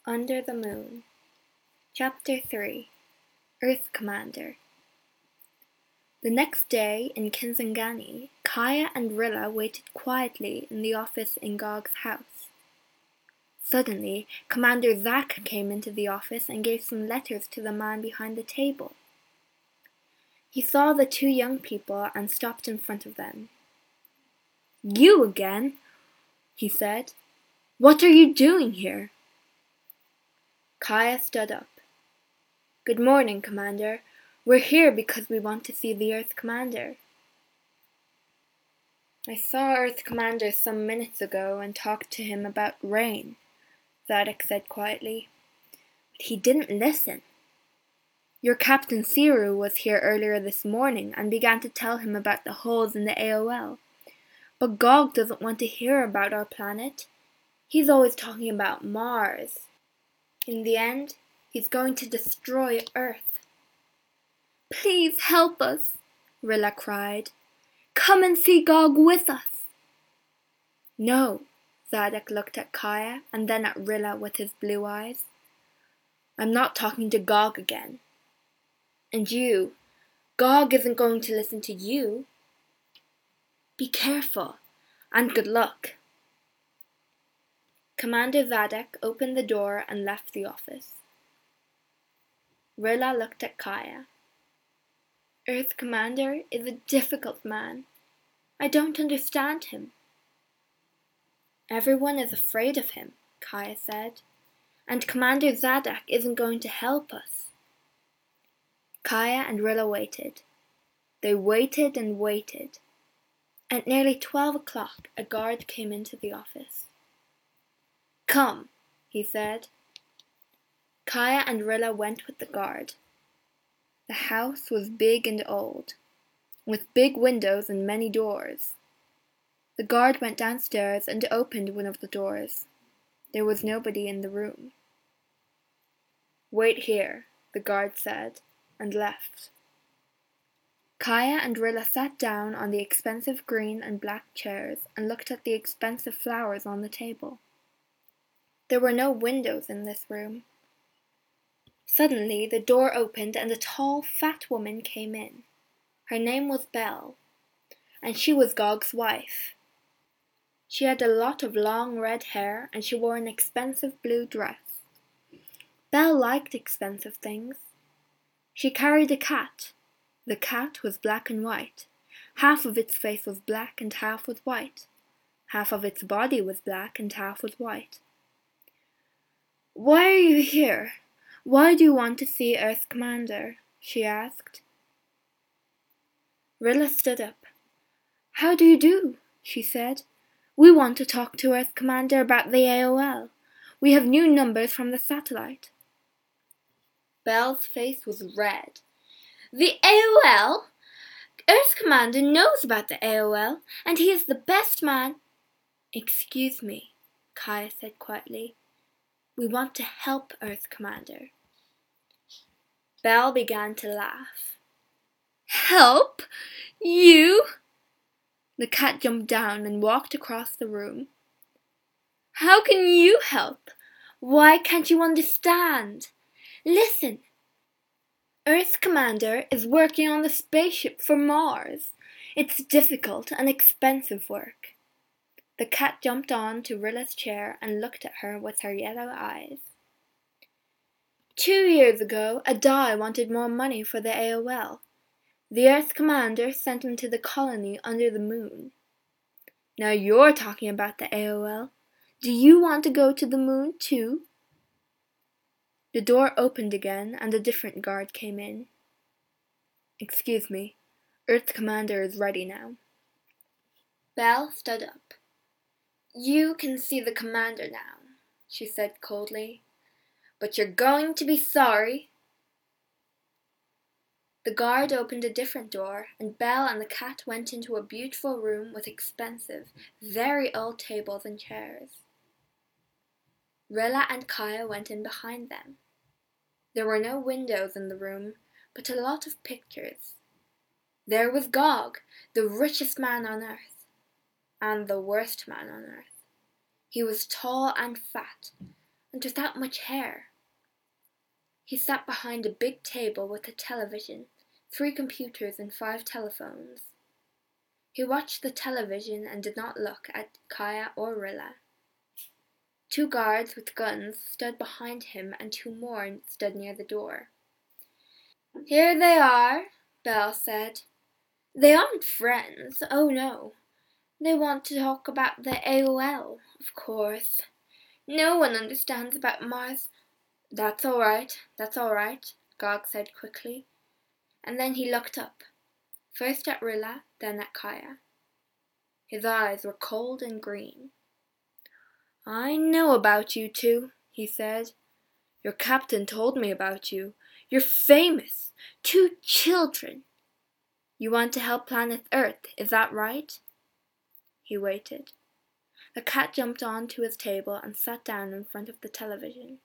Under the Moon. Chapter 3. Earth Commander. The next day in Kisangani, Kaya and Rilla waited quietly in the office in Gog's house. Suddenly, Commander Zack came into the office and gave some letters to the man behind the table. He saw the two young people and stopped in front of them. "You again?" he said. "What are you doing here?" Kaya stood up. "Good morning, Commander. We're here because we want to see the Earth Commander." "I saw Earth Commander some minutes ago and talked to him about rain," Zadok said quietly. "But he didn't listen. Your Captain Siru was here earlier this morning and began to tell him about the holes in the AOL. But Gog doesn't want to hear about our planet. He's always talking about Mars. In the end, he's going to destroy Earth." "Please help us," Rilla cried. "Come and see Gog with us." "No," Zadok looked at Kaya and then at Rilla with his blue eyes. "I'm not talking to Gog again. And you, Gog isn't going to listen to you. Be careful, and good luck." Commander Zadok opened the door and left the office. Rilla looked at Kaya. "Earth Commander is a difficult man. I don't understand him." "Everyone is afraid of him," Kaya said. "And Commander Zadok isn't going to help us." Kaya and Rilla waited. They waited and waited. At nearly 12 o'clock, a guard came into the office. "Come," he said. Kaya and Rilla went with the guard. The house was big and old, with big windows and many doors. The guard went downstairs and opened one of the doors. There was nobody in the room. "Wait here," the guard said, and left. Kaya and Rilla sat down on the expensive green and black chairs and looked at the expensive flowers on the table. There were no windows in this room. Suddenly the door opened and a tall, fat woman came in. Her name was Belle, and she was Gog's wife. She had a lot of long red hair and she wore an expensive blue dress. Belle liked expensive things. She carried a cat. The cat was black and white. Half of its face was black and half was white. Half of its body was black and half was white. "Why are you here? Why do you want to see Earth Commander?" she asked. Rilla stood up. "How do you do?" she said. "We want to talk to Earth Commander about the AOL. We have new numbers from the satellite." Belle's face was red. "The AOL? Earth Commander knows about the AOL, and he is the best man." "Excuse me," Kaya said quietly. "We want to help Earth Commander." Belle began to laugh. "Help? You?" The cat jumped down and walked across the room. "How can you help? Why can't you understand? Listen. Earth Commander is working on the spaceship for Mars. It's difficult and expensive work." The cat jumped on to Rilla's chair and looked at her with her yellow eyes. 2 years ago, Adai wanted more money for the AOL. The Earth Commander sent him to the colony under the moon. Now you're talking about the AOL. Do you want to go to the moon too?" The door opened again and a different guard came in. "Excuse me, Earth Commander is ready now." Belle stood up. "You can see the commander now," she said coldly. "But you're going to be sorry." The guard opened a different door, and Belle and the cat went into a beautiful room with expensive, very old tables and chairs. Rilla and Kaya went in behind them. There were no windows in the room, but a lot of pictures. There was Gog, the richest man on earth, and the worst man on earth. He was tall and fat, and without much hair. He sat behind a big table with a television, 3 computers and 5 telephones. He watched the television and did not look at Kaya or Rilla. 2 guards with guns stood behind him and 2 more stood near the door. "Here they are," Belle said. "They aren't friends, oh no. They want to talk about the AOL, of course. No one understands about Mars." That's all right, Gog said quickly. And then he looked up, first at Rilla, then at Kaya. His eyes were cold and green. "I know about you 2, he said. "Your captain told me about you. You're famous. 2 children. You want to help planet Earth, is that right?" He waited. The cat jumped onto his table and sat down in front of the television.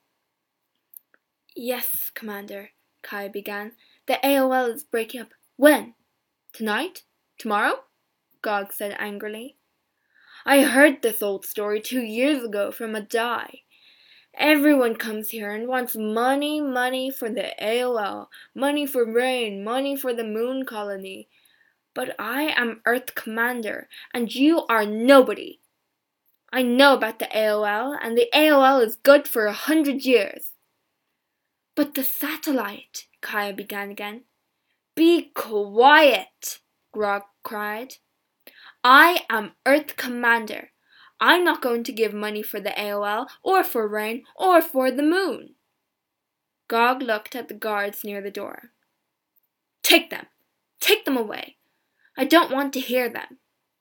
"Yes, Commander," Kaya began. "The AOL is breaking up." "When? Tonight? Tomorrow?" Gog said angrily. "I heard this old story 2 years ago from a Dai. Everyone comes here and wants money for the AOL, money for rain, money for the moon colony. But I am Earth Commander, and you are nobody. I know about the AOL, and the AOL is good for 100 years. "But the satellite," Kaya began again. "Be quiet," Grog cried. "I am Earth Commander. I'm not going to give money for the AOL, or for rain, or for the moon." Gog looked at the guards near the door. Take them away. I don't want to hear them."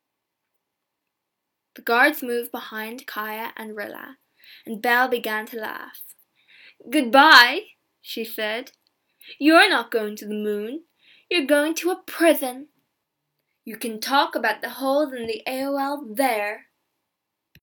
The guards moved behind Kaya and Rilla, and Belle began to laugh. "Goodbye," she said. "You're not going to the moon. You're going to a prison. You can talk about the holes in the AOL there."